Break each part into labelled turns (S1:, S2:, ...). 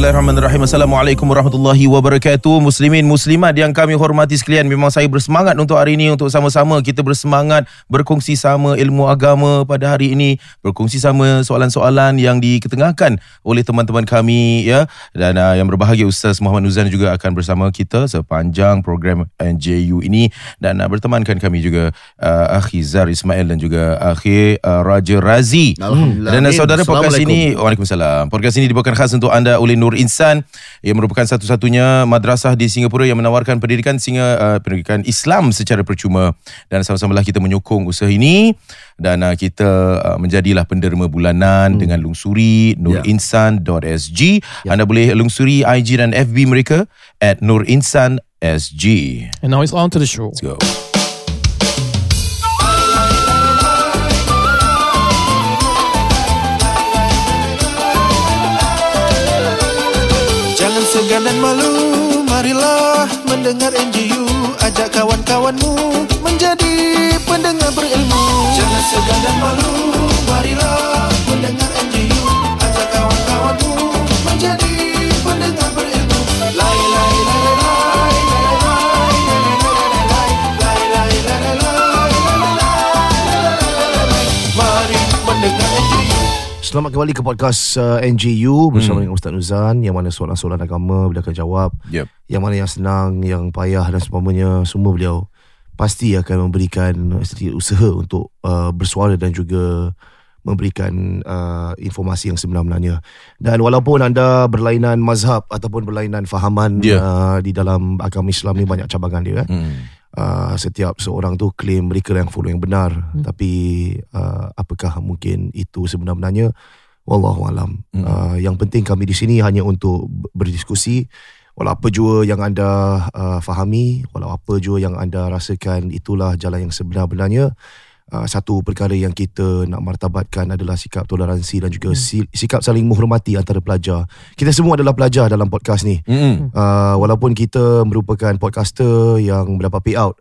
S1: Bismillahirrahmanirrahim. Assalamualaikum warahmatullahi wabarakatuh. Muslimin, muslimat yang kami hormati sekalian, memang saya bersemangat untuk hari ini, untuk sama-sama kita bersemangat berkongsi sama ilmu agama pada hari ini, berkongsi sama soalan-soalan yang diketengahkan oleh teman-teman kami, ya. Dan yang berbahagia Ustaz Muhammad Nuzan juga akan bersama kita sepanjang program NJU ini, dan bertemankan kami juga Akhi Zar Ismail dan juga Akhi Raja Razi.
S2: Alhamdulillah.
S1: Dan saudara, podcast ini, Waalaikumsalam, podcast ini dibawakan khas untuk anda oleh Nur Insan, yang merupakan satu-satunya madrasah di Singapura yang menawarkan pendidikan Islam secara percuma. Dan sama-samalah kita menyokong usaha ini, dan kita menjadilah penderma bulanan dengan lungsuri nurinsan.sg. Anda boleh lungsuri IG dan FB mereka @nurinsan.sg.
S3: And now it's on to the show.
S1: Let's go.
S4: Segan dan malu, marilah mendengar NJU. Ajak kawan-kawanmu menjadi pendengar berilmu. Jangan segan dan malu, marilah mendengar NJU. Ajak kawan-kawanmu menjadi pendengar berilmu. Lai lai lai lai lai lai lai lai lai. Mari mendengar NJU.
S2: Selamat kembali ke podcast NJU bersama dengan Ustaz Nuzan, yang mana soalan-soalan agama beliau akan jawab. Yang mana yang senang, yang payah dan sebagainya, semua beliau pasti akan memberikan sedikit usaha untuk bersuara dan juga memberikan informasi yang sebenar-benarnya. Dan walaupun anda berlainan mazhab ataupun berlainan fahaman di dalam agama Islam ni, banyak cabangan dia kan. Setiap seorang tu claim mereka yang follow yang benar, tapi apakah mungkin itu sebenar-benarnya? Wallahualam. Yang penting kami di sini hanya untuk berdiskusi. Walau apa jua yang anda fahami, walau apa jua yang anda rasakan, itulah jalan yang sebenar-benarnya. Satu perkara yang kita nak martabatkan adalah sikap toleransi dan juga sikap saling menghormati antara pelajar. Kita semua adalah pelajar dalam podcast ni. Walaupun kita merupakan podcaster yang mendapat payout,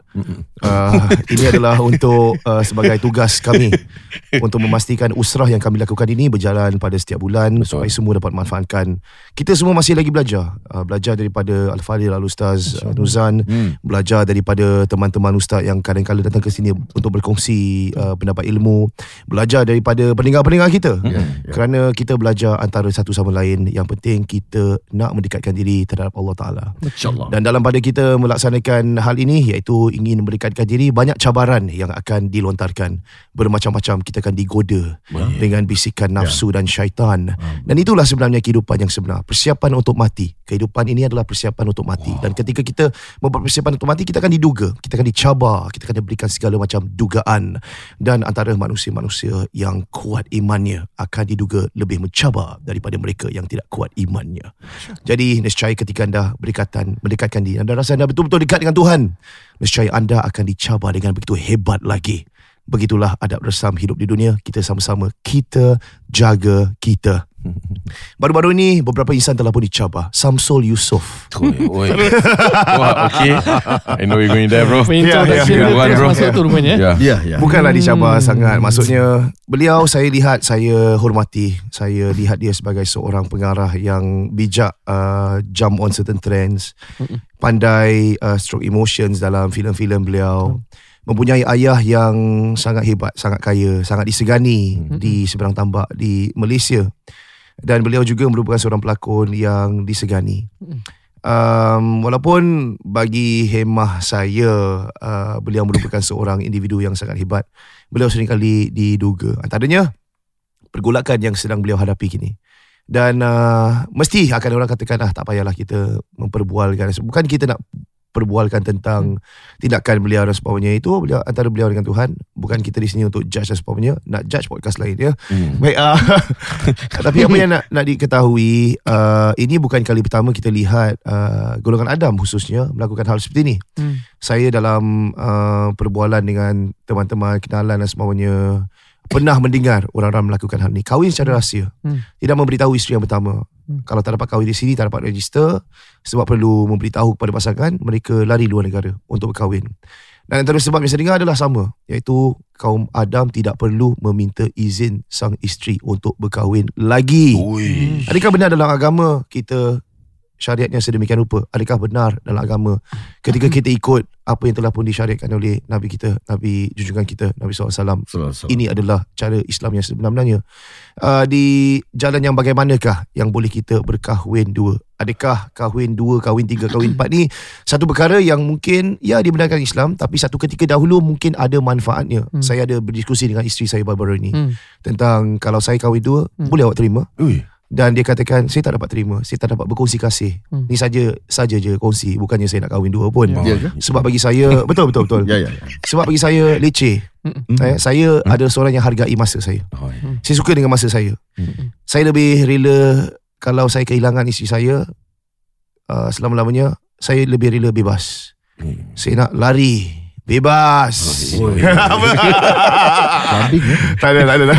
S2: ini adalah untuk sebagai tugas kami untuk memastikan usrah yang kami lakukan ini berjalan pada setiap bulan. Supaya semua dapat manfaatkan. Kita semua masih lagi belajar. Belajar daripada Al-Fadhil Al-Ustaz Nuzan, belajar daripada teman-teman ustaz yang kadang-kadang datang ke sini untuk berkongsi pendapat ilmu, belajar daripada pendengar-pendengar kita. Kerana kita belajar antara satu sama lain. Yang penting kita nak mendekatkan diri terhadap Allah Ta'ala. Dan dalam pada kita melaksanakan hal ini, iaitu ingin mendekatkan diri, banyak cabaran yang akan dilontarkan. Bermacam-macam, kita akan digoda dengan bisikan nafsu dan syaitan. Dan itulah sebenarnya kehidupan yang sebenar. Persiapan untuk mati. Kehidupan ini adalah persiapan untuk mati. Dan ketika kita membuat persiapan untuk mati, kita akan diduga, kita akan dicabar, kita akan diberikan segala macam dugaan. Dan antara manusia-manusia yang kuat imannya akan diduga lebih mencabar daripada mereka yang tidak kuat imannya. Jadi nescaya ketika anda mendekatkan diri, anda rasa anda betul-betul dekat dengan Tuhan, nescaya anda akan dicabar dengan begitu hebat lagi. Begitulah adab resam hidup di dunia. Kita sama-sama kita jaga kita. Baru-baru ini beberapa insan telah pun dicabar. Samsul Yusof.
S1: Wah, okay. I know you're going there, bro.
S2: Bukanlah dicabar sangat. Maksudnya beliau, saya hormati. Saya lihat dia sebagai seorang pengarah yang bijak, jump on certain trends, pandai stroke emotions dalam filem-filem beliau. Mempunyai ayah yang sangat hebat, sangat kaya, sangat disegani di seberang tambak di Malaysia. Dan beliau juga merupakan seorang pelakon yang disegani. Walaupun bagi hemah saya, beliau merupakan seorang individu yang sangat hebat. Beliau seringkali diduga, antaranya pergolakan yang sedang beliau hadapi kini. Dan mesti akan orang katakan, tak payahlah kita memperbualkan. Bukan kita nak perbualkan tentang tindakan beliau dan sebagainya. Itu antara beliau dengan Tuhan. Bukan kita di sini untuk judge dan sebagainya. Nak judge podcast lain ya. Baik. Tapi apa yang nak diketahui, ini bukan kali pertama kita lihat golongan Adam khususnya melakukan hal seperti ini. Saya dalam perbualan dengan teman-teman, kenalan dan sebagainya, pernah mendengar orang-orang melakukan hal ini. Kahwin secara rahsia, tidak memberitahu isteri yang pertama. Kalau tak dapat kahwin di sini, tak dapat register, sebab perlu memberitahu kepada pasangan, mereka lari luar negara untuk berkahwin. Dan antara sebab yang saya dengar adalah sama, iaitu kaum Adam tidak perlu meminta izin sang isteri untuk berkahwin lagi. Adakah benar dalam agama kita syariatnya sedemikian rupa? Adakah benar dalam agama ketika kita ikut apa yang telah pun disyariatkan oleh Nabi kita, Nabi junjungan kita, Nabi SAW, ini adalah cara Islam yang sebenar-benarnya? Di jalan yang bagaimanakah yang boleh kita berkahwin dua? Adakah kahwin 2, kahwin 3, kahwin 4 ni satu perkara yang mungkin dibenarkan Islam, tapi satu ketika dahulu mungkin ada manfaatnya. Saya ada berdiskusi dengan isteri saya baru-baru ni tentang kalau saya kahwin 2, boleh awak terima? Dan dia katakan, saya tak dapat terima, saya tak dapat berkongsi kasih. Ni saja je kongsi, bukannya saya nak kahwin 2 pun. Sebab bagi saya betul. Sebab bagi saya leceh. Saya ada seorang yang hargai masa saya. Saya suka dengan masa saya. Saya lebih rela kalau saya kehilangan isteri saya selama-lamanya, saya lebih rela bebas. Saya nak lari bebas. Tak ada.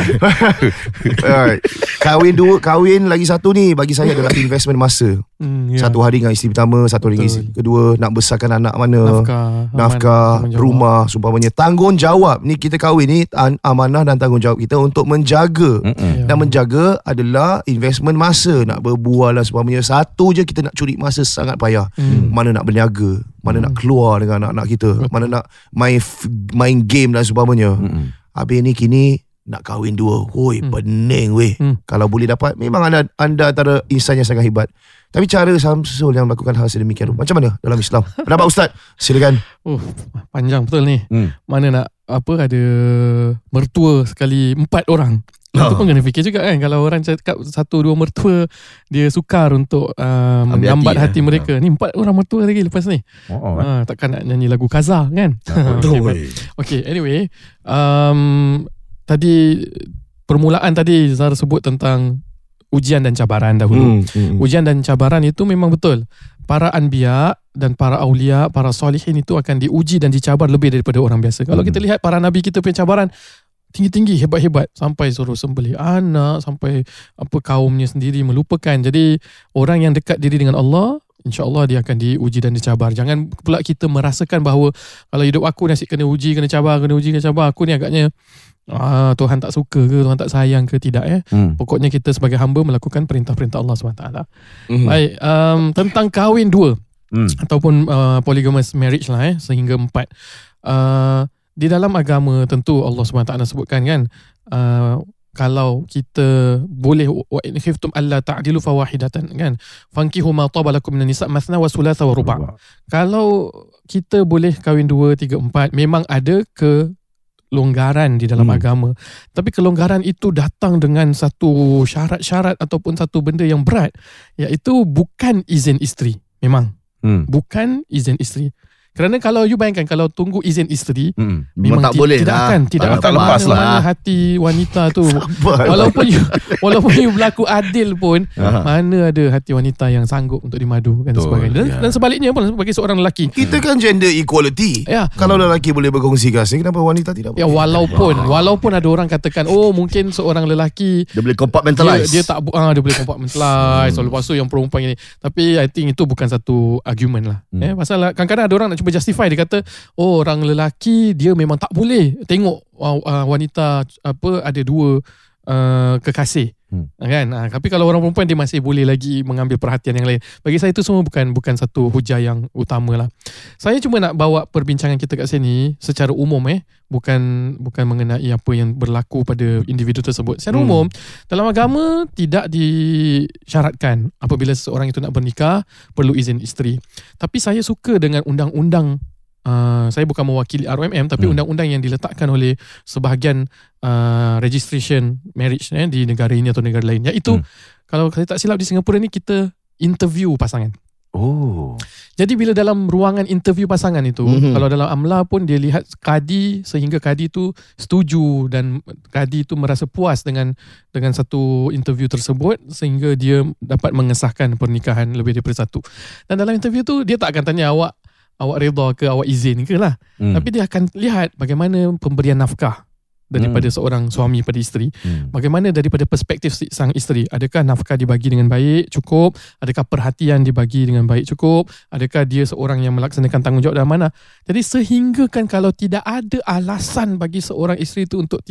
S2: Kahwin lagi satu ni bagi saya adalah investment masa. Satu hari dengan isteri pertama, satu hari dengan isteri kedua, nak besarkan anak mana, nafkah rumah, sumpamanya tanggungjawab. Ni kita kahwin ni amanah dan tanggungjawab kita untuk menjaga. Dan menjaga adalah investment masa. Nak berbual dan sumpamanya, satu je kita nak curi masa sangat payah. Mana nak berniaga, mana nak keluar dengan anak-anak kita, mana nak main game dan sebagainya. Habis ni kini nak kahwin 2. Pening weh. Kalau boleh dapat, memang anda antara insan yang sangat hebat. Tapi cara Samsul yang melakukan hal sedemikian, macam mana dalam Islam? Pendapat Ustaz, silakan.
S3: Panjang betul ni. Mana nak ada mertua sekali 4 orang. Itu pun kena fikir juga kan. Kalau orang cakap 1-2 mertua, dia sukar untuk menggambat hati mereka. Ni 4 orang mertua lagi lepas ni. Takkan nak nyanyi lagu Kaza kan. Okay, anyway, tadi permulaan tadi Zara sebut tentang ujian dan cabaran dahulu. Ujian dan cabaran itu memang betul. Para anbiya dan para aulia, para solihin itu akan diuji dan dicabar lebih daripada orang biasa. Kalau kita lihat para nabi kita punya cabaran tinggi-tinggi, hebat-hebat, sampai suruh sembelih anak, sampai kaumnya sendiri melupakan. Jadi orang yang dekat diri dengan Allah, InsyaAllah dia akan diuji dan dicabar. Jangan pula kita merasakan bahawa kalau hidup aku nasib kena uji, kena cabar, aku ni agaknya Tuhan tak suka ke, Tuhan tak sayang ke, tidak ya. Pokoknya kita sebagai hamba melakukan perintah-perintah Allah SWT. Baik, tentang kahwin 2 ataupun polygamous marriage lah sehingga 4. Di dalam agama tentu Allah SWT sebutkan kan, kalau kita boleh, wa in khiftum alla ta'dilu fawahidatan kan, fankihu ma taba lakum minan nisa mathna wa thulatha wa ruba'. Kalau kita boleh kahwin 2, 3, 4, memang ada kelonggaran di dalam agama. Tapi kelonggaran itu datang dengan satu syarat-syarat ataupun satu benda yang berat, iaitu bukan izin isteri. Memang bukan izin isteri. Kerana kalau you bayangkan, kalau tunggu izin isteri, memang
S2: tak boleh
S3: tidak akan
S1: lepas
S3: mana hati wanita tu. Walaupun you berlaku adil pun, mana ada hati wanita yang sanggup untuk dimadu dan sebagainya. Dan sebaliknya pun bagi seorang lelaki.
S2: Kita kan gender equality. Kalau lelaki boleh berkongsi kasih, kenapa wanita tidak boleh?
S3: Walaupun ada orang katakan, mungkin seorang lelaki
S2: dia boleh compartmentalize.
S3: Dia boleh compartmentalize. Lepas tu yang perempuan ini. Tapi I think itu bukan satu argument lah. Pasal kadang-kadang ada orang nak cuba justify, dia kata orang lelaki dia memang tak boleh tengok wanita ada 2 kekasih kan. Tapi kalau orang perempuan dia masih boleh lagi mengambil perhatian yang lain. Bagi saya itu semua bukan satu hujah yang utama lah. Saya cuma nak bawa perbincangan kita kat sini secara umum bukan mengenai apa yang berlaku pada individu tersebut. Secara umum dalam agama tidak disyaratkan apabila seseorang itu nak bernikah perlu izin isteri. Tapi saya suka dengan undang-undang, saya bukan mewakili ROMM, tapi undang-undang yang diletakkan oleh sebahagian registration marriage di negara ini atau negara lain, iaitu kalau saya tak silap di Singapura ni kita interview pasangan. Jadi bila dalam ruangan interview pasangan itu, kalau dalam amla pun dia lihat kadi, sehingga kadi tu setuju dan kadi tu merasa puas dengan satu interview tersebut, sehingga dia dapat mengesahkan pernikahan lebih daripada 1. Dan dalam interview tu dia tak akan tanya awak reda ke, awak izin ke lah. Tapi dia akan lihat bagaimana pemberian nafkah. daripada seorang suami pada isteri. Bagaimana daripada perspektif sang isteri? Adakah nafkah dibagi dengan baik, cukup? Adakah perhatian dibagi dengan baik, cukup? Adakah dia seorang yang melaksanakan tanggungjawab dalam mana? Jadi sehingga kan kalau tidak ada alasan bagi seorang isteri itu untuk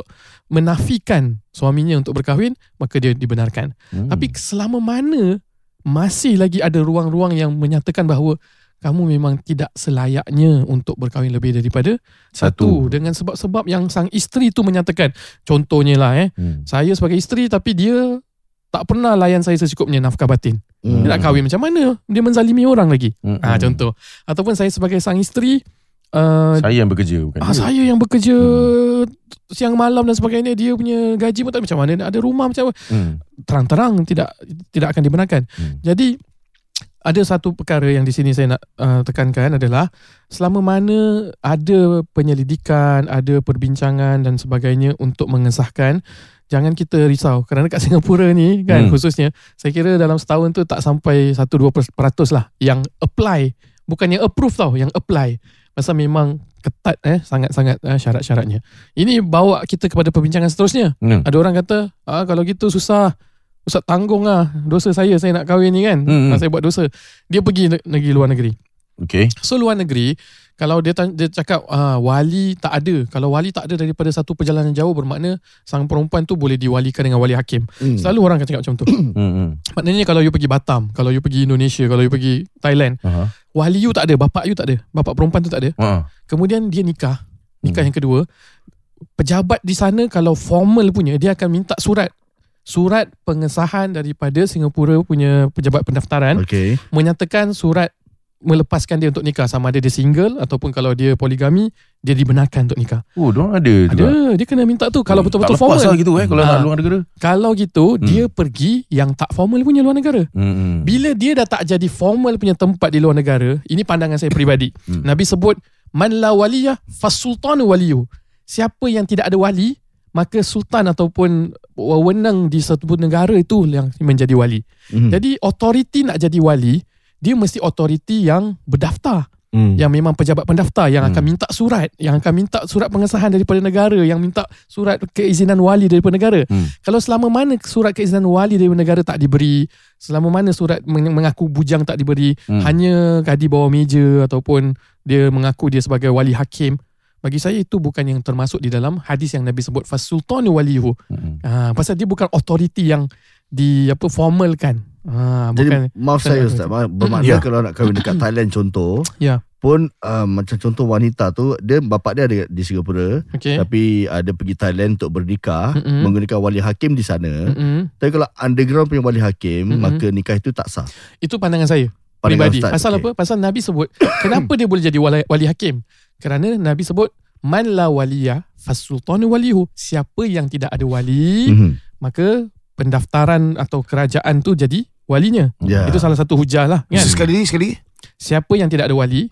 S3: menafikan suaminya untuk berkahwin, maka dia dibenarkan. Tapi selama mana masih lagi ada ruang-ruang yang menyatakan bahawa kamu memang tidak selayaknya untuk berkahwin lebih daripada satu, dengan sebab-sebab yang sang isteri tu menyatakan. Contohnya lah saya sebagai isteri tapi dia tak pernah layan saya secukupnya nafkah batin. Dia nak kahwin macam mana? Dia menzalimi orang lagi. Contoh. Ataupun saya sebagai sang isteri,
S1: saya yang bekerja bukan dia.
S3: Saya yang bekerja siang malam dan sebagainya, dia punya gaji pun tak macam mana, ada rumah macam apa. Terang-terang tidak akan dibenarkan. Jadi ada satu perkara yang di sini saya nak tekankan adalah selama mana ada penyelidikan, ada perbincangan dan sebagainya untuk mengesahkan, jangan kita risau. Kerana kat Singapura ni kan khususnya, saya kira dalam setahun tu tak sampai 1-2% lah yang apply. Bukan yang approve tau, yang apply. Pasal memang ketat sangat-sangat syarat-syaratnya. Ini bawa kita kepada perbincangan seterusnya. Ada orang kata, kalau gitu susah, Ustaz tanggung lah dosa saya nak kahwin ni kan. Saya buat dosa. Dia pergi negeri luar negeri.
S1: Okay.
S3: So luar negeri, kalau dia cakap wali tak ada. Kalau wali tak ada daripada satu perjalanan jauh, bermakna sang perempuan tu boleh diwalikan dengan wali hakim. Selalu orang akan cakap macam tu. Maknanya kalau you pergi Batam, kalau you pergi Indonesia, kalau you pergi Thailand, wali you tak ada, bapak you tak ada, bapak perempuan tu tak ada. Kemudian dia nikah yang kedua, pejabat di sana kalau formal punya, dia akan minta surat pengesahan daripada Singapura punya pejabat pendaftaran, menyatakan surat melepaskan dia untuk nikah, sama ada dia single ataupun kalau dia poligami, dia dibenarkan untuk nikah.
S1: Diorang ada
S3: dia kena minta tu kalau betul-betul
S1: tak
S3: formal
S1: lah gitu kalau nak luar negara.
S3: Kalau gitu dia pergi yang tak formal punya luar negara. Bila dia dah tak jadi formal punya tempat di luar negara, ini pandangan saya peribadi. Nabi sebut man la waliyah fasultanu waliyu. Siapa yang tidak ada wali, maka sultan ataupun wewenang di satu negara itu yang menjadi wali. Jadi authority nak jadi wali, dia mesti authority yang berdaftar, yang memang pejabat pendaftar, yang akan minta surat, yang akan minta surat pengesahan daripada negara, yang minta surat keizinan wali daripada negara. Kalau selama mana surat keizinan wali daripada negara tak diberi, selama mana surat mengaku bujang tak diberi, hanya kadi bawah meja ataupun dia mengaku dia sebagai wali hakim, bagi saya itu bukan yang termasuk di dalam hadis yang Nabi sebut fasultanu waliyuhu. Pasal dia bukan authority yang formalkan.
S2: Jadi maaf saya Ustaz, bermakna kalau nak kahwin dekat Thailand contoh, pun macam contoh wanita tu, dia bapak dia ada di Singapura, tapi ada pergi Thailand untuk bernikah, menggunakan wali hakim di sana. Tapi kalau underground punya wali hakim, maka nikah itu tak sah. Itu
S3: pandangan saya pribadi. Pasal apa? Pasal Nabi sebut kenapa dia boleh jadi wali hakim? Kerana Nabi sebut man la waliyah fasultanu walihu. Siapa yang tidak ada wali, maka pendaftaran atau kerajaan tu jadi walinya. Itu salah satu hujah lah kan?
S2: Sekali.
S3: Siapa yang tidak ada wali?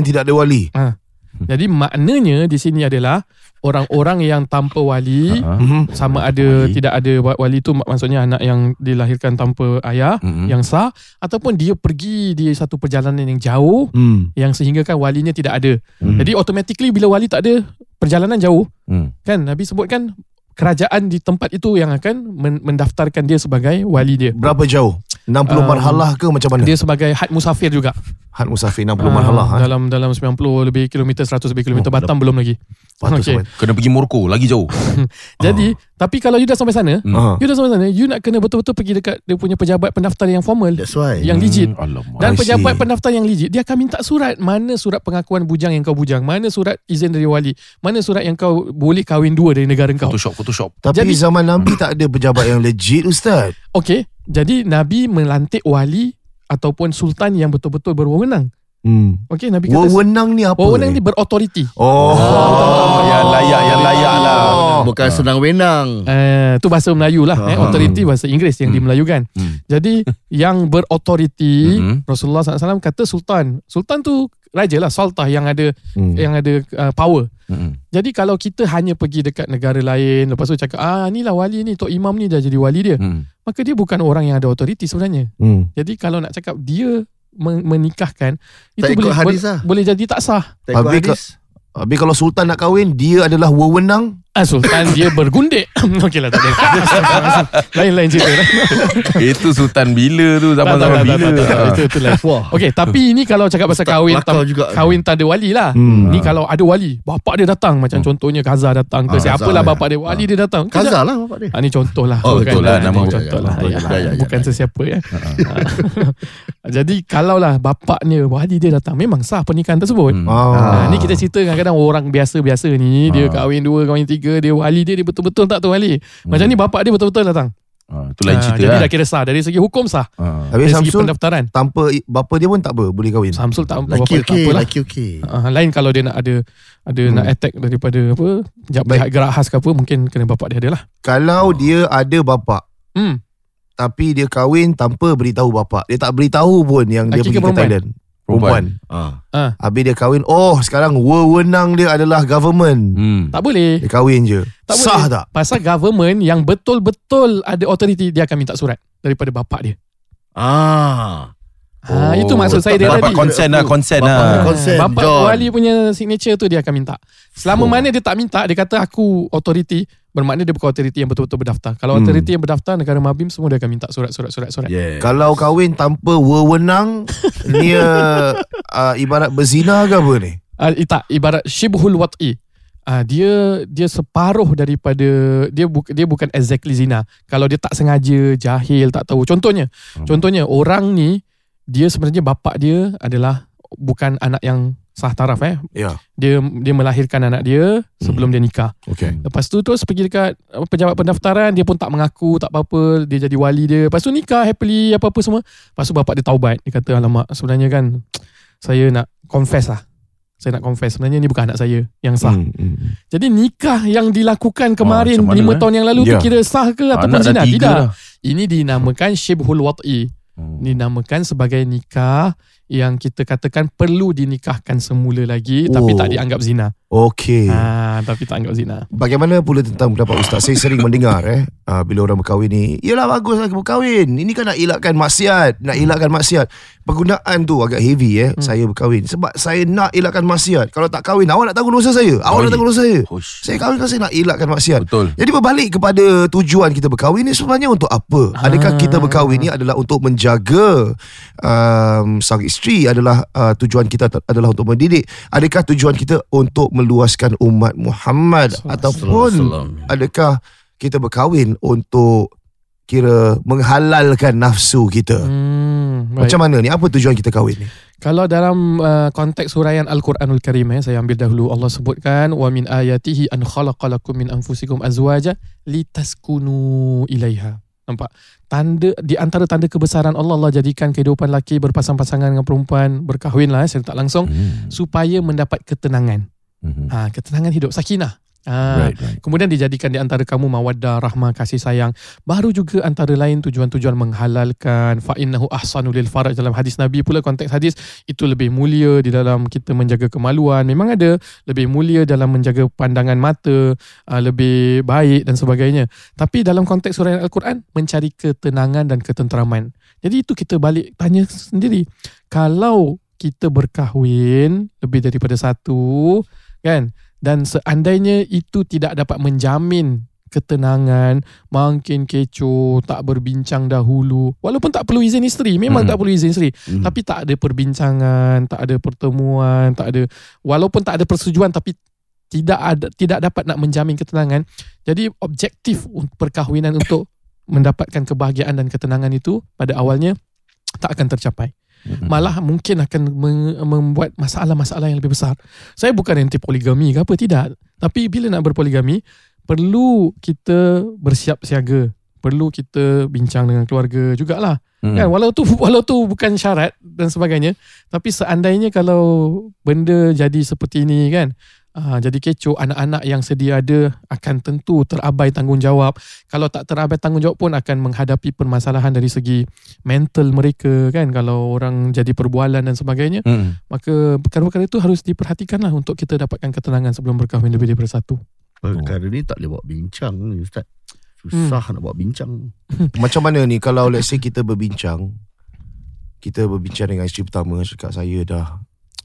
S3: Jadi maknanya di sini adalah orang-orang yang tanpa wali, sama ada tidak ada wali tu maksudnya anak yang dilahirkan tanpa ayah yang sah, ataupun dia pergi di satu perjalanan yang jauh yang sehinggakan walinya tidak ada. Jadi automatically bila wali tak ada, perjalanan jauh, kan Nabi sebutkan kerajaan di tempat itu yang akan mendaftarkan dia sebagai wali dia.
S2: Berapa jauh? 60 marhalah ke macam mana?
S3: Dia sebagai had musafir juga.
S2: Had musafir 60 marhalah.
S3: Dalam 90 lebih kilometer, 100 lebih kilometer. Batam belum lagi.
S1: Kena pergi Morocco, lagi jauh.
S3: Jadi, tapi kalau you dah sampai sana, you nak kena betul-betul pergi dekat dia punya pejabat pendaftar yang formal.
S2: That's why.
S3: Yang legit. Dan pejabat pendaftar yang legit, dia akan minta surat. Mana surat pengakuan bujang yang kau bujang? Mana surat izin dari wali? Mana surat yang kau boleh kahwin dua dari negara kau?
S1: Photoshop.
S2: Tapi jadi, zaman Nabi tak ada pejabat yang legit, Ustaz.
S3: Okey. Jadi Nabi melantik wali ataupun sultan yang betul-betul berwenang. Okey, Nabi kata
S2: wewenang ni apa?
S3: Wewenang ni berautoriti.
S1: Yang layak lah.
S2: Bukan senang wenang.
S3: Tu bahasa Melayu lah. Authority bahasa Inggeris yang dimelayukan. Jadi yang berautoriti, Rasulullah SAW kata sultan. Sultan tu raja lah, sultah yang ada power. Jadi kalau kita hanya pergi dekat negara lain, lepas tu cakap ni lah wali ni, Tok Imam ni dah jadi wali dia, maka dia bukan orang yang ada authority sebenarnya. Jadi kalau nak cakap dia menikahkan, itu boleh jadi tak sah.
S2: Habis kalau sultan nak kahwin, dia adalah wewenang,
S3: Sultan dia bergundik. Okeylah, tak ada. Lain-lain cerita.
S1: Itu sultan bila tu, zaman-zaman bila.
S3: Itu lain. Okey, tapi ini kalau cakap pasal kahwin tak ada wali lah. Ni kalau ada wali, bapak dia datang, macam contohnya Gaza datang ke siapalah bapak dia, wali dia datang.
S2: Gaza lah bapak dia.
S3: Ni contoh lah.
S1: Betul lah, nama
S3: contoh lah. Bukan sesiapa ya. Jadi kalau lah bapaknya, wali dia datang, memang sah pernikahan tersebut. Ni kita cerita kadang-kadang orang biasa-biasa ni, dia kahwin 2, kahwin 3, dia wali dia betul-betul tak tahu wali. Macam ni bapak dia betul-betul datang.
S1: Itu lain cerita.
S3: Jadi dah kira sah dari segi hukum sah.
S2: Tapi
S3: dari segi
S2: Samsul
S3: pendaftaran
S2: tanpa bapa dia pun tak boleh kahwin.
S3: Samsul tak
S5: Laki okey.
S3: Lain kalau dia nak ada nak attack daripada apa pihak gerak khas ke apa, mungkin kena bapak dia adalah.
S2: Kalau dia ada bapa, tapi dia kahwin tanpa beritahu bapa, dia tak beritahu pun yang dia pergi ke Thailand. Perempuan. Habis dia kahwin, sekarang wewenang dia adalah government.
S3: Tak boleh.
S2: Dia kahwin je.
S3: Tak
S2: sah
S3: boleh.
S2: tak?
S3: Pasal government yang betul-betul ada authority, dia akan minta surat daripada bapak dia. Itu maksud saya dia
S1: dapat
S3: tadi.
S1: Konsen lah.
S3: Bapak wali punya signature tu dia akan minta. Selama mana dia tak minta, dia kata aku authority, bermakna dia bukan authority yang betul-betul berdaftar. Kalau authority yang berdaftar, negara Mabim semua dia akan minta surat.
S2: Kalau kahwin tanpa wewenang, dia ibarat berzina ke apa ni?
S3: Tak, ibarat syibhul wat'i. Dia separuh daripada dia bukan exactly zina. Kalau dia tak sengaja, jahil, tak tahu. Contohnya orang ni, dia sebenarnya bapak dia adalah bukan anak yang sah taraf Dia melahirkan anak dia sebelum dia nikah. Lepas tu terus pergi dekat pejabat pendaftaran, dia pun tak mengaku, tak apa-apa, dia jadi wali dia. Lepas tu nikah happily apa-apa semua. Lepas tu bapak dia taubat, dia kata alamak, sebenarnya kan saya nak confess lah. Saya nak confess sebenarnya ni bukan anak saya yang sah. Jadi nikah yang dilakukan kemarin 5 tahun yang lalu tu kira sah ke ataupun zina? Tidak. Ini dinamakan syibhul wat'i. Dinamakan sebagai nikah yang kita katakan perlu dinikahkan semula lagi, tapi tak dianggap zina. Tapi tak anggap zina.
S2: Bagaimana pula tentang pendapat Ustaz? Saya sering mendengar bila orang berkahwin ni, yalah baguslah berkahwin, ini kan nak elakkan maksiat. Penggunaan tu agak heavy saya berkahwin sebab saya nak elakkan maksiat. Kalau tak kahwin, awak nak tanggung dosa saya. Saya kahwin kan saya nak elakkan maksiat.
S1: Betul.
S2: Jadi berbalik kepada tujuan kita berkahwin ni sebenarnya untuk apa? Adakah kita berkahwin ni adalah untuk menjaga sang isteri, adalah tujuan kita adalah untuk mendidik? Adakah tujuan kita untuk meluaskan umat Muhammad, ataupun adakah kita berkahwin untuk kira menghalalkan nafsu kita? Macam mana ni? Apa tujuan kita kahwin ni?
S3: Kalau dalam konteks huraian Al-Quranul Karim, saya ambil dahulu, Allah sebutkan wa min ayatihi an khalaqalakum min anfusikum azwaja litaskunu ilaiha. Nampak? Di antara tanda kebesaran Allah, Allah jadikan kehidupan lelaki berpasang-pasangan dengan perempuan, berkahwin lah secara tak langsung, supaya mendapat ketenangan. Ketenangan hidup, sakinah. Kemudian dijadikan di antara kamu mawaddah, rahmah, kasih sayang. Baru juga antara lain tujuan-tujuan menghalalkan fa innahu ahsanu lil faraj. Dalam hadis Nabi pula, konteks hadis itu lebih mulia di dalam kita menjaga kemaluan. Memang ada lebih mulia dalam menjaga pandangan mata, lebih baik dan sebagainya. Tapi dalam konteks surah Al-Quran, mencari ketenangan dan ketenteraman. Jadi itu kita balik tanya sendiri, kalau kita berkahwin lebih daripada satu, kan, dan seandainya itu tidak dapat menjamin ketenangan, makin kecoh, tak berbincang dahulu, walaupun tak perlu izin isteri, memang tak perlu izin isteri, tapi tak ada perbincangan, tak ada pertemuan, tak ada, walaupun tak ada persetujuan, tapi tidak dapat nak menjamin ketenangan. Jadi objektif perkahwinan untuk mendapatkan kebahagiaan dan ketenangan itu pada awalnya tak akan tercapai. Malah mungkin akan membuat masalah-masalah yang lebih besar. Saya bukan anti poligami ke apa, tidak. Tapi bila nak berpoligami, perlu kita bersiap siaga, perlu kita bincang dengan keluarga jugalah. Kan, walau tu bukan syarat dan sebagainya, tapi seandainya kalau benda jadi seperti ini, kan, jadi kecoh, anak-anak yang sedia ada akan tentu terabai tanggungjawab. Kalau tak terabai tanggungjawab pun akan menghadapi permasalahan dari segi mental mereka, kan, kalau orang jadi perbualan dan sebagainya. Maka perkara-perkara itu harus diperhatikanlah untuk kita dapatkan ketenangan sebelum berkahwin lebih daripada satu.
S5: Perkara ni tak boleh buat bincang ni, Ustaz. Susah nak buat bincang.
S2: Macam mana ni kalau let's say kita berbincang dengan isteri pertama, cakap saya dah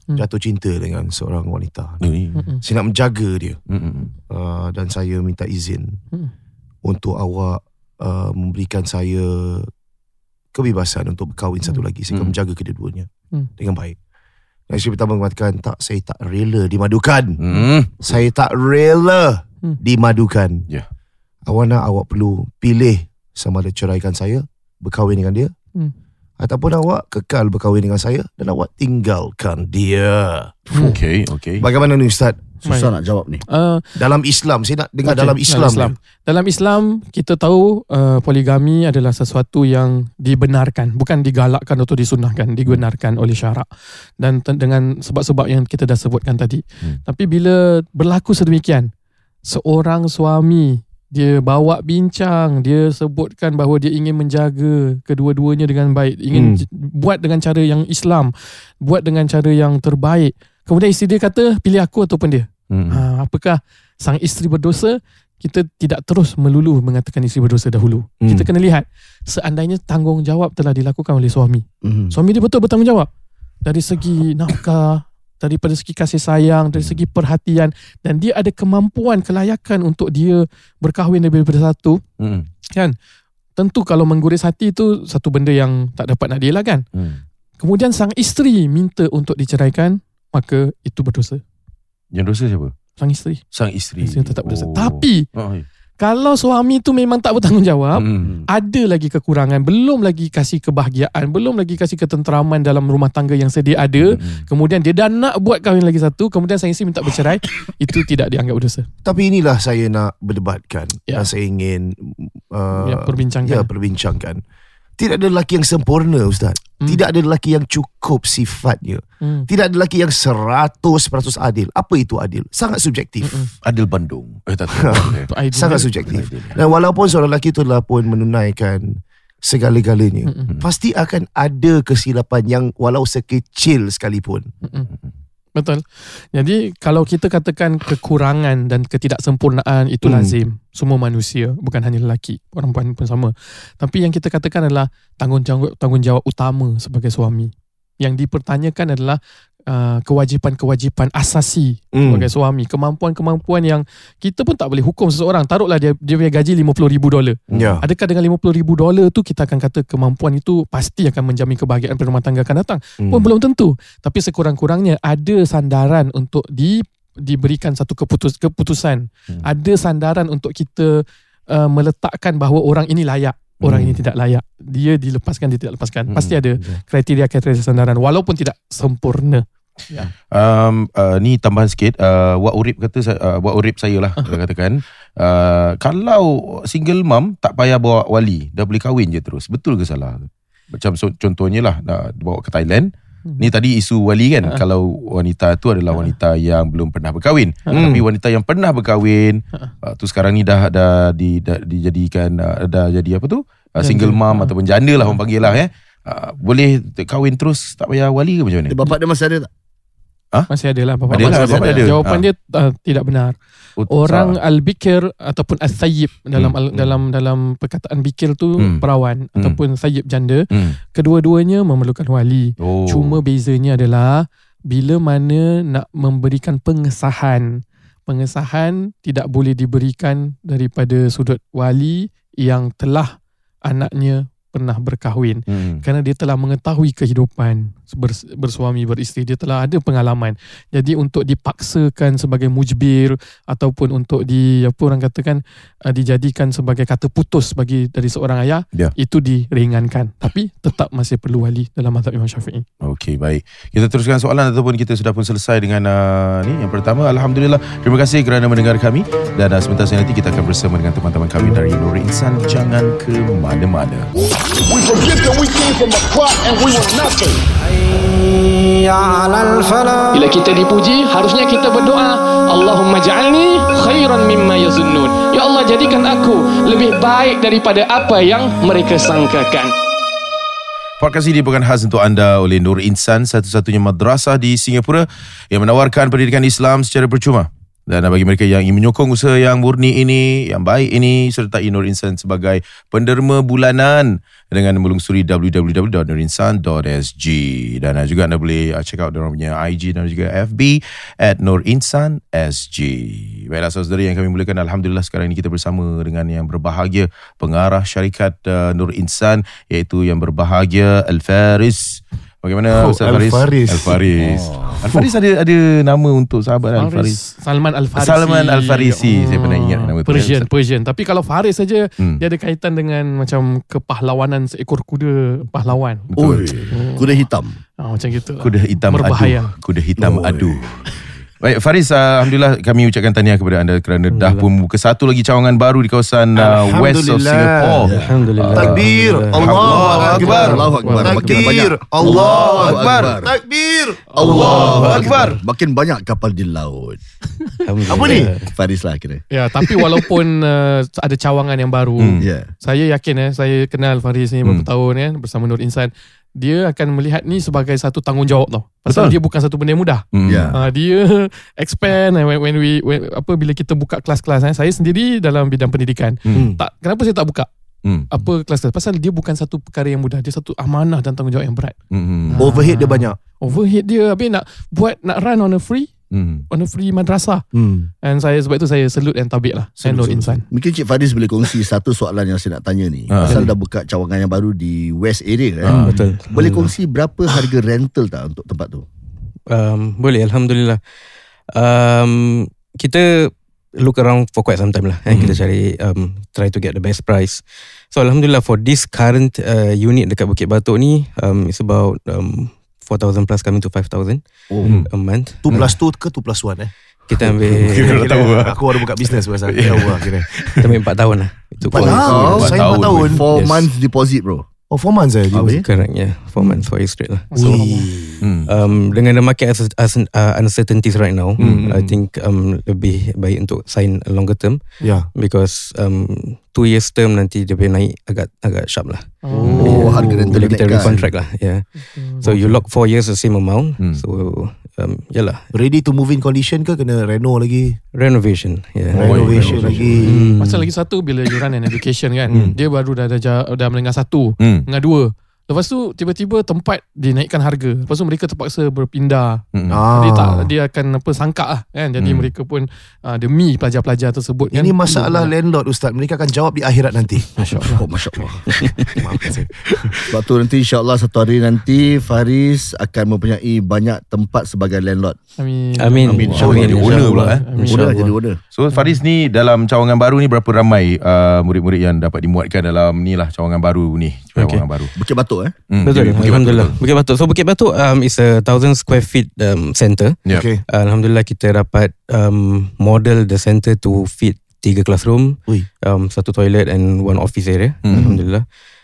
S2: jatuh cinta dengan seorang wanita. Saya nak menjaga dia. Dan saya minta izin untuk awak memberikan saya kebebasan untuk berkahwin satu lagi. Saya akan menjaga kedua-duanya dengan baik. Dan isteri pertama mengatakan, tak, saya tak rela dimadukan. Saya tak rela dimadukan. Awak nak, awak perlu pilih sama ada ceraikan saya, berkahwin dengan dia, ataupun awak kekal berkahwin dengan saya dan awak tinggalkan dia.
S1: Okay.
S2: Bagaimana ni Ustaz?
S5: Susah nak jawab ni.
S2: Dalam Islam, saya nak dengar dalam Islam.
S3: Dalam Islam, kita tahu poligami adalah sesuatu yang dibenarkan, bukan digalakkan atau disunahkan, dibenarkan oleh syarak. Dan dengan sebab-sebab yang kita dah sebutkan tadi. Tapi bila berlaku sedemikian, seorang suami dia bawa bincang, dia sebutkan bahawa dia ingin menjaga kedua-duanya dengan baik, ingin buat dengan cara yang Islam, buat dengan cara yang terbaik. Kemudian isteri dia kata, pilih aku ataupun dia. Apakah sang isteri berdosa? Kita tidak terus melulu mengatakan isteri berdosa dahulu. Kita kena lihat, seandainya tanggungjawab telah dilakukan oleh suami. Suami dia betul bertanggungjawab. Dari segi nafkah, daripada segi kasih sayang, dari segi perhatian, dan dia ada kemampuan, kelayakan untuk dia berkahwin daripada satu, kan? Tentu kalau mengguris hati itu satu benda yang tak dapat nak dielakkan. Kemudian sang isteri minta untuk diceraikan, maka itu berdosa.
S1: Yang dosa siapa?
S3: Sang isteri. Isteri tetap berdosa.
S1: Oh.
S3: Tapi kalau suami tu memang tak bertanggungjawab, ada lagi kekurangan, belum lagi kasih kebahagiaan, belum lagi kasih ketenteraman dalam rumah tangga yang sedia ada, kemudian dia dah nak buat kahwin lagi satu, kemudian sang isteri minta bercerai, itu tidak dianggap berdosa.
S2: Tapi inilah saya nak berdebatkan, dan saya ingin perbincangkan. Tidak ada lelaki yang sempurna, Ustaz. Tidak ada lelaki yang cukup sifatnya. Tidak ada lelaki yang 100% adil. Apa itu adil? Sangat subjektif.
S1: Adil Bandung.
S2: Sangat subjektif. Dan walaupun seorang lelaki itu telah pun menunaikan segala-galanya, pasti akan ada kesilapan yang walau sekecil sekalipun.
S3: Betul. Jadi kalau kita katakan kekurangan dan ketidaksempurnaan itu lazim, semua manusia, bukan hanya lelaki, perempuan pun sama. Tapi yang kita katakan adalah tanggungjawab utama sebagai suami. Yang dipertanyakan adalah kewajipan-kewajipan asasi sebagai suami, kemampuan-kemampuan yang kita pun tak boleh hukum seseorang. Taruhlah dia punya gaji $50,000. Adakah dengan $50,000 tu kita akan kata kemampuan itu pasti akan menjamin kebahagiaan rumah tangga akan datang? Pun belum tentu. Tapi sekurang-kurangnya ada sandaran untuk diberikan satu keputusan. Ada sandaran untuk kita meletakkan bahawa orang ini layak, orang ini tidak layak. Dia dilepaskan, dia tidak lepaskan. Pasti ada kriteria-kriteria sandaran walaupun tidak sempurna.
S1: Ni tambahan sikit, Wak Urip kata, Wak Urip saya lah katakan, kalau single mom tak payah bawa wali, dah boleh kahwin je terus. Betul ke salah? Macam contohnya lah, bawa ke Thailand. Ni tadi isu wali kan. Kalau wanita tu adalah wanita yang belum pernah berkahwin, tapi wanita yang pernah berkahwin tu sekarang ni dah dijadikan dah jadi apa tu, single mom ataupun janda lah orang panggil lah, boleh kahwin terus tak payah wali ke macam mana?
S5: Bapak dia masih ada tak?
S3: Masih ada lah. Bapak
S1: ada.
S3: Jawapan dia tidak benar. Orang al-bikir ataupun al-thayyib dalam perkataan bikir tu perawan ataupun thayyib janda, kedua-duanya memerlukan wali. Cuma bezanya adalah bila mana nak memberikan pengesahan tidak boleh diberikan daripada sudut wali yang telah anaknya pernah berkahwin, kerana dia telah mengetahui kehidupan bersuami beristeri, dia telah ada pengalaman. Jadi untuk dipaksakan sebagai mujbir ataupun untuk orang katakan dijadikan sebagai kata putus dari seorang ayah, itu diringankan, tapi tetap masih perlu wali dalam mazhab Imam Syafi'i. Okey,
S1: baik. Kita teruskan soalan ataupun kita sudah pun selesai dengan ni yang pertama. Alhamdulillah. Terima kasih kerana mendengar kami, dan sebentar nanti kita akan bersama dengan teman-teman kami dari Nur Insan. Jangan ke mana-mana.
S6: We forget that we came from a clot and we were nothing.
S3: Bila kita dipuji, harusnya kita berdoa, Allahumma ja'alni khairan mimma yazunnun. Ya Allah, jadikan aku lebih baik daripada apa yang mereka sangkakan.
S1: Podcast ini bukan khas untuk anda oleh Nur Insan, satu-satunya madrasah di Singapura yang menawarkan pendidikan Islam secara percuma. Dan bagi mereka yang ingin menyokong usaha yang murni ini, yang baik ini, sertai Nur Insan sebagai penderma bulanan dengan melungsuri www.nurinsan.sg. Dan juga anda boleh check out diorang punya IG dan juga FB @nurinsan.sg. Baiklah saudara yang kami muliakan, alhamdulillah sekarang ini kita bersama dengan yang berbahagia, pengarah syarikat Nur Insan, iaitu yang berbahagia Al-Faris. Bagaimana Ustaz Faris? Al-Faris. Al-Faris ada nama untuk sahabat Al-Faris.
S3: Salman Al-Farisi.
S1: Salman Al-Farisi. Saya pernah ingat nama tu.
S3: Persian. Tapi kalau Faris saja dia ada kaitan dengan macam kepahlawanan seekor kuda pahlawan.
S5: Betul. Kuda hitam.
S3: Macam gitu.
S1: Kuda hitam
S3: berbahaya.
S1: Kuda hitam adu. Baik Faris, alhamdulillah kami ucapkan tahniah kepada anda kerana dah pun buka satu lagi cawangan baru di kawasan west of Singapore.
S2: Alhamdulillah. Takbir.
S1: Allahu Akbar.
S5: Allahu Akbar.
S2: Takbir.
S1: Allahu Akbar.
S2: Takbir.
S1: Allahu Akbar.
S5: Makin banyak kapal di laut.
S2: Apa ni?
S5: Faris lah kira.
S3: Ya, tapi walaupun ada cawangan yang baru, saya yakin saya kenal Faris ni beberapa tahun bersama Nur Insan. Dia akan melihat ni sebagai satu tanggungjawab tau. Pasal dia bukan satu benda yang mudah. Dia expand bila kita buka kelas-kelas. Saya sendiri dalam bidang pendidikan. Kenapa saya tak buka? Kelas-kelas? Pasal dia bukan satu perkara yang mudah. Dia satu amanah dan tanggungjawab yang berat.
S2: Overhead dia banyak.
S3: Overhead dia habis nak run on a free madrasah. And sebab itu saya salute and tabik lah Nur Insan.
S5: Mungkin Cik Faris boleh kongsi satu soalan yang saya nak tanya ni. Pasal dah buka cawangan yang baru di West area kan.
S7: Betul.
S5: Boleh kongsi berapa harga rental tak untuk tempat tu?
S7: Boleh, alhamdulillah. Kita look around for quite some time lah. Kita cari try to get the best price. So alhamdulillah for this current unit dekat Bukit Batok ni, it's about 4,000 plus coming to 5,000 a month.
S2: 2 plus 2 ke 2 plus 1
S7: Kita ambil
S2: aku baru buka bisnes pasal kira.
S7: Kita ambil 4 tahun lah.
S2: 4 tahun
S5: 4 months deposit bro.
S2: 4 months
S7: Correct, 4 months for you straight lah. So dengan the market uncertainties right now, I think lebih baik untuk sign a longer term. Because 2 years term nanti dia boleh naik agak sharp lah.
S5: Harga rental
S7: bila kita recontract lah. So you lock 4 years the same amount. So yalah.
S2: Ready to move in condition ke kena reno lagi?
S7: Renovation.
S2: Renovation lagi.
S3: Pasal lagi satu, bila you run an education kan, dia baru dah menengah 1, menengah 2. Lepas tu tiba-tiba tempat dinaikkan harga. Lepas tu mereka terpaksa berpindah. Dia akan sangka lah kan. Jadi mereka pun demi pelajar-pelajar tersebut kan.
S2: Ini masalah landlord Ustaz. Mereka akan jawab di akhirat nanti.
S5: Masya-Allah. Masya-Allah. Sebab tu nanti insya-Allah satu hari nanti Faris akan mempunyai banyak tempat sebagai landlord.
S3: Amin.
S1: Jadi owner pula
S5: Jadi owner.
S1: So Faris ni dalam cawangan baru ni berapa ramai murid-murid yang dapat dimuatkan dalam ni lah cawangan baru ni. Cawangan baru.
S5: Bukit Batok
S7: Betul, alhamdulillah. Bukit Batok. So Bukit Batok is a 1,000 square feet center. Alhamdulillah kita dapat model the center to fit 3 classroom, 1 toilet and 1 office area. Alhamdulillah.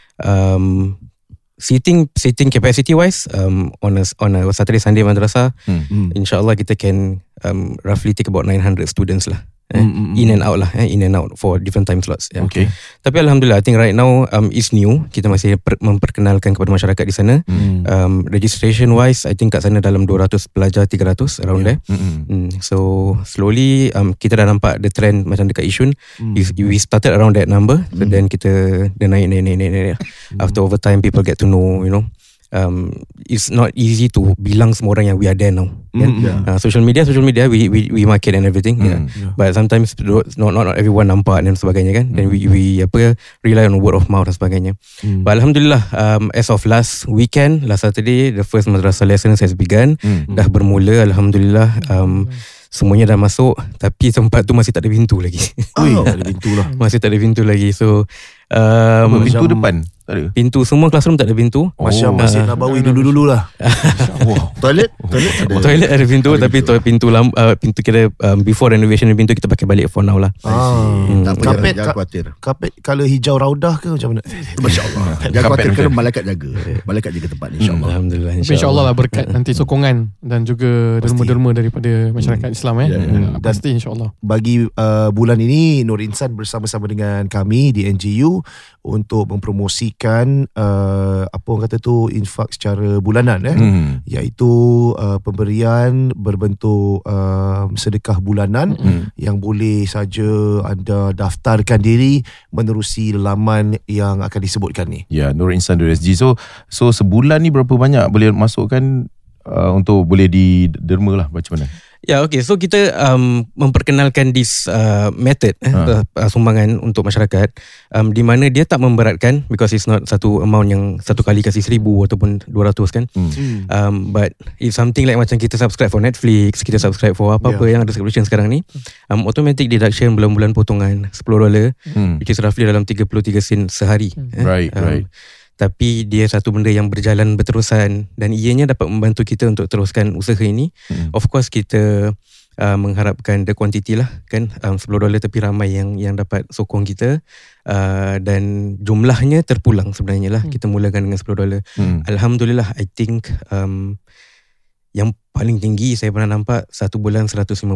S7: Seating capacity wise, on a Saturday Sunday madrasah, insyaAllah kita can roughly take about 900 students lah. In and out for different time slots. Tapi alhamdulillah, I think right now is new. Kita masih memperkenalkan kepada masyarakat di sana. Registration wise, I think kat sana dalam 200 pelajar, 300 around there. So slowly kita dah nampak the trend macam dekat Yishun. We started around that number, so then kita naik. After over time, people get to know, it's not easy to bilang semua orang yang we are there now. Social media we market and everything. But sometimes not everyone nampak dan sebagainya kan. Then we rely on word of mouth dan sebagainya. But alhamdulillah, as of last Saturday, the first madrasah lessons has begun. Dah bermula alhamdulillah. Semuanya dah masuk, tapi tempat tu masih tak ada pintu lagi.
S2: Tak ada pintu lah.
S7: Masih tak ada pintu lagi. So
S1: pintu depan tak ada.
S7: Pintu semua classroom tak ada pintu.
S2: Macam Masjid Nabawi dulu-dulu lah.
S5: Toilet
S7: ada pintu, tapi pintu kita before renovation pintu kita pakai balik for now lah.
S2: Kapek
S5: Jangan khawatir.
S2: Kapet color hijau raudah ke macam mana?
S5: Masya-Allah. Jangan khawatir kerana malaikat jaga. Malaikat jaga tempat ni insya-Allah.
S7: Alhamdulillah.
S3: InsyaAllah lah berkat nanti sokongan dan juga derma-derma daripada masyarakat Islam pasti insyaAllah.
S2: Bagi bulan ini Nur Insan bersama-sama dengan kami di NGU untuk mempromosikan apa orang kata tu, infak secara bulanan iaitu pemberian berbentuk sedekah bulanan yang boleh saja anda daftarkan diri menerusi laman yang akan disebutkan ni.
S1: Ya, nurinsan.sg. So sebulan ni berapa banyak boleh masukkan untuk boleh diderma lah, macam mana?
S7: Ya, okay. So kita memperkenalkan this method sumbangan untuk masyarakat, di mana dia tak memberatkan, because it's not satu amount yang satu kali kasih 1,000 ataupun 200 kan. But if something like macam kita subscribe for Netflix, kita subscribe for apa-apa yang ada subscription sekarang ni, automatic deduction bulan-bulan potongan $10, which is roughly dalam 33 sen sehari.
S1: Right.
S7: Tapi dia satu benda yang berjalan berterusan dan ianya dapat membantu kita untuk teruskan usaha ini. Of course kita mengharapkan the quantity lah kan, $10 tapi ramai yang dapat sokong kita, dan jumlahnya terpulang sebenarnya lah. Kita mulakan dengan $10. Alhamdulillah, I think yang paling tinggi saya pernah nampak satu bulan $150.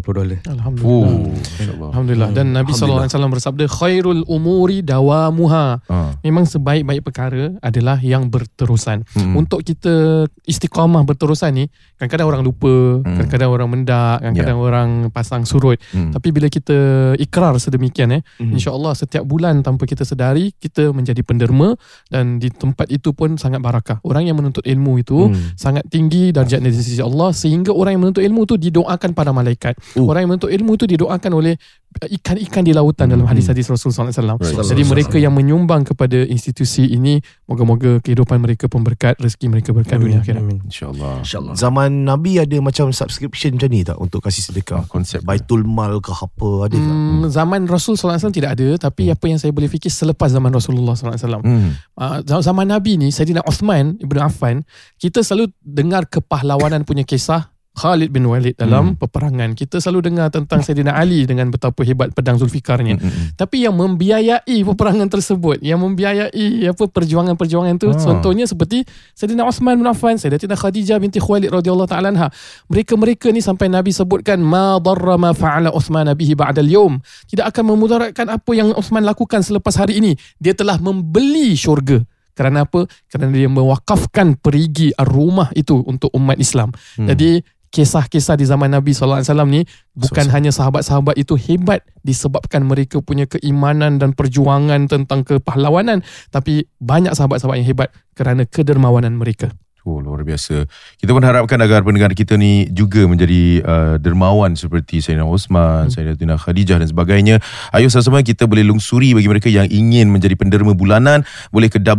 S3: Alhamdulillah. Dan Nabi SAW bersabda, khairul umuri dawamuha. Memang sebaik-baik perkara adalah yang berterusan. Untuk kita istiqamah berterusan ni, kadang-kadang orang lupa, kadang-kadang orang mendak, kadang-kadang orang pasang surut. Tapi bila kita ikrar sedemikian insya-Allah setiap bulan tanpa kita sedari kita menjadi penderma, dan di tempat itu pun sangat barakah. Orang yang menuntut ilmu itu sangat tinggi darjatnya di sisi Allah, sehingga orang yang menuntut ilmu itu didoakan pada malaikat. Orang yang menuntut ilmu itu didoakan oleh ikan-ikan di lautan dalam hadis-hadis Rasulullah SAW. Jadi mereka yang menyumbang kepada institusi ini, moga-moga kehidupan mereka pun berkat, rezeki mereka berkat dunia akhirat.
S1: InsyaAllah.
S2: Zaman Nabi ada macam subscription macam ni tak untuk kasih sedekah? Konsep Baitul Mal ke apa ada tak?
S3: Zaman Rasul SAW tidak ada, tapi apa yang saya boleh fikir selepas zaman Rasulullah SAW. Zaman Nabi ni, Saidina Uthman Ibn Affan, kita selalu dengar kepahlawanan punya kisah Khalid bin Walid dalam peperangan. Kita selalu dengar tentang Saidina Ali dengan betapa hebat pedang Zulfikarnya. Tapi yang membiayai peperangan tersebut, yang membiayai perjuangan-perjuangan itu, contohnya seperti Saidina Uthman bin Affan, Sayyidatina Khadijah binti Khuwailid radhiyallahu ta'ala anha. Mereka ni sampai Nabi sebutkan, ma darra ma fa'ala Uthman bihi ba'da al-yawm. Tidak akan memudaratkan apa yang Uthman lakukan selepas hari ini. Dia telah membeli syurga. Kerana apa? Kerana dia mewakafkan perigi rumah itu untuk umat Islam. Jadi kisah-kisah di zaman Nabi SAW ni bukan hanya sahabat-sahabat itu hebat disebabkan mereka punya keimanan dan perjuangan tentang kepahlawanan, tapi banyak sahabat-sahabat yang hebat kerana kedermawanan mereka.
S1: Luar biasa. Kita pun harapkan agar pendengar kita ni juga menjadi dermawan seperti Sayyidina Osman, Sayyidatina Khadijah dan sebagainya. Ayo sama-sama kita boleh lungsuri. Bagi mereka yang ingin menjadi penderma bulanan, boleh ke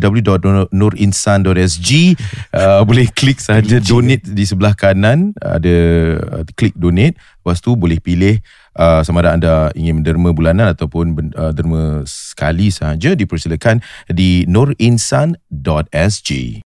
S1: www.nurinsan.sg. Boleh klik sahaja donate di sebelah kanan, ada klik donate. Lepas tu boleh pilih sama ada anda ingin menderma bulanan ataupun derma sekali sahaja, dipersilakan di nurinsan.sg.